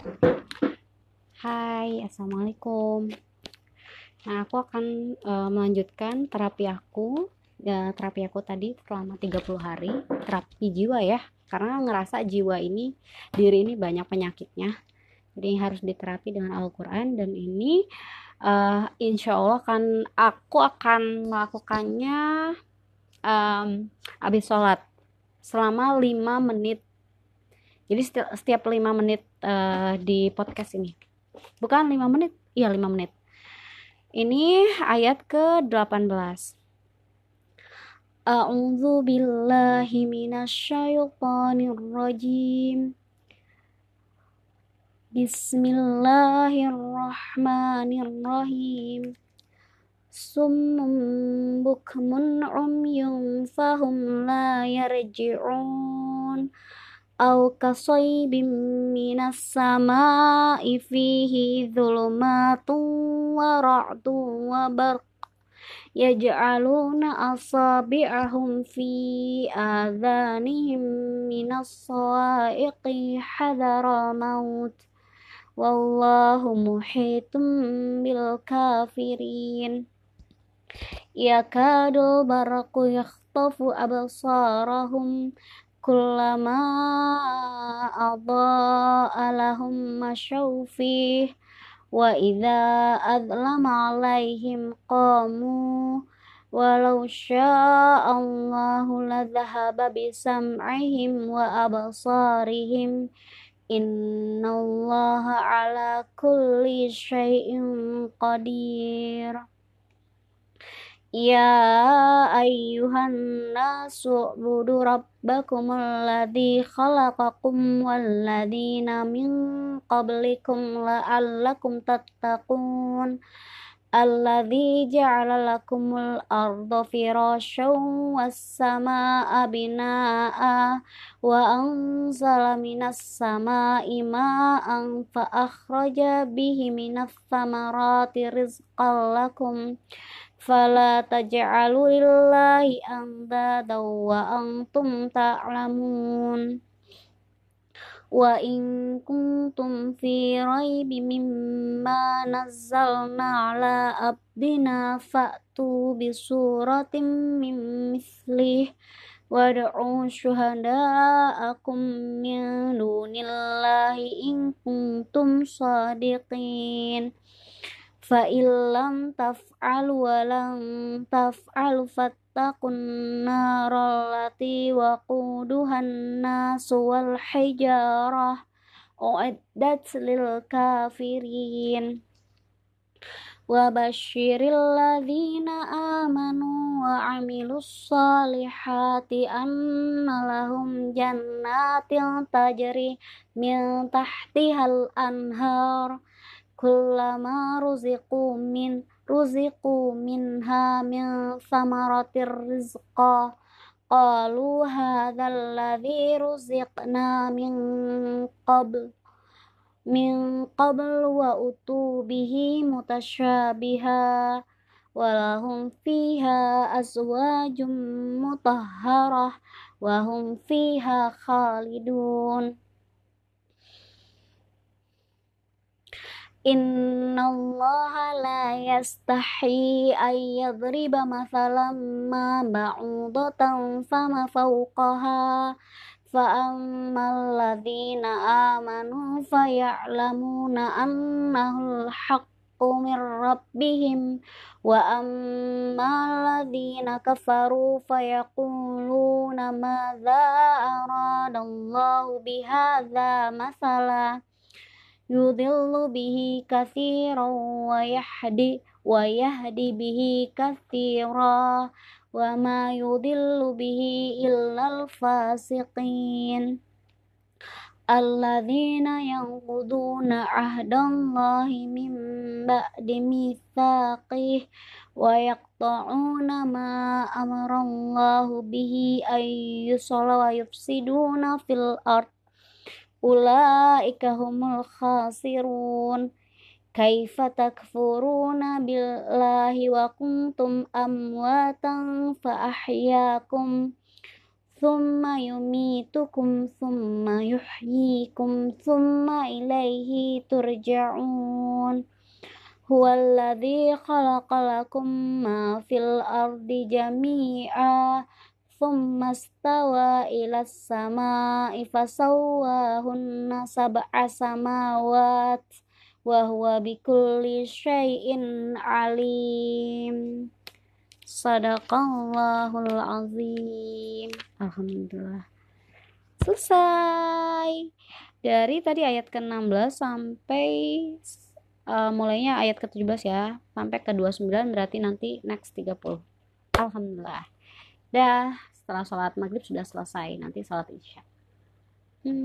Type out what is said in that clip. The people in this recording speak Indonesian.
Hai, Assalamualaikum. Nah, aku akan melanjutkan terapi aku. Ya, terapi aku tadi selama 30 hari, terapi jiwa ya. Karena ngerasa jiwa ini, diri ini banyak penyakitnya. Jadi harus diterapi dengan Al-Quran. Dan ini insya Allah aku akan melakukannya em, habis sholat selama 5 menit. Jadi setiap 5 menit di podcast ini. Bukan 5 menit, iya 5 menit. Ini ayat ke-18. A'udzu billahi minasyaitonir rajim. Bismillahirrahmanirrahim. Summun bukmun umyun fahum la yarji'un. Au kasaybim minas sama'i fihi dhulumatun wa ra'dun wa barq yaj'aluna asabi'ahum fi adhanihim minas sawa'iqi hadara maut wallahu muhitum bil kafirin yakadul barqu yakhtafu absarahum kullama adha'a lahum masyaw fihi wa idza adlama alaihim qamu walau sya'allahu ladhahaba bisam'ihim wa absarihim innallaha ala kulli syai'in qadir. Ya ayyuhan nasu ubudu rabbakumul ladzi khalaqakum wal ladzina min qablikum la'allakum tattaqun. Alladzi ja'ala lakumul arda firasyan was samaa'a binaa'a wa anzala minas samaa'i maa'an fa akhraja bihi minas thamarati rizqan lakum fala taj'alu lillahi andada wa antum ta'lamun. Wa in kuntum fi raibin mimma nazzalna ala abdina fa'tu bi suratin min mithlih wad'u syuhada'akum min dunillahi in kuntum shadiqin. Fa illam taf'alu wa lam taf'alu fattaqun naral lati waquduhan nasu wal hijarah u'iddat lil kafirin. Wa basyiril ladzina amanu wa 'amilus solihati anna lahum jannatin tajri min tahtihal anhar kullama ruziqu minha min thamaratir rizqa qalu hadzal ladzi ruziqna min qabl wa utu bihi mutasyabiha walahum fiha azwajum mutahharah wa hum fiha khalidun. Innallaha la yastahi ay yadriba mathalan ma ba'udatan fama fawqaha fa ammal ladzina amanu faya'lamuna annahul haqqu min rabbihim wa ammal ladzina kafaru fayaquluna madza aradallahu bihadza mathala yudhillu bihi katsiran wa yahdi bihi katsira wa ma yudhillu bihi illal fasiqin alladzina yanquduna ahdallahi min ba'di mitsaqih wa yaqta'una ma amarallahu bihi ay yusalla wa yufsiduna fil ard ulaika humul khasirun. Kaifa takfuruna billahi wa kuntum amwatan fa ahyaakum thumma yumitukum thumma yuhyikum thumma ilaihi turja'un. Huwallazi khalaqalakum ma fil ardi jami'a thumma stawa ilas sama'i fasawwahunna sab'a samawat wa huwa bikulli syai'in alim. Sadaqallahul azim. Alhamdulillah. Selesai. Dari tadi ayat ke-16 sampai mulainya ayat ke-17 ya, sampai ke-29, berarti nanti next 30. Alhamdulillah. Dah, setelah sholat maghrib sudah selesai, nanti sholat isya.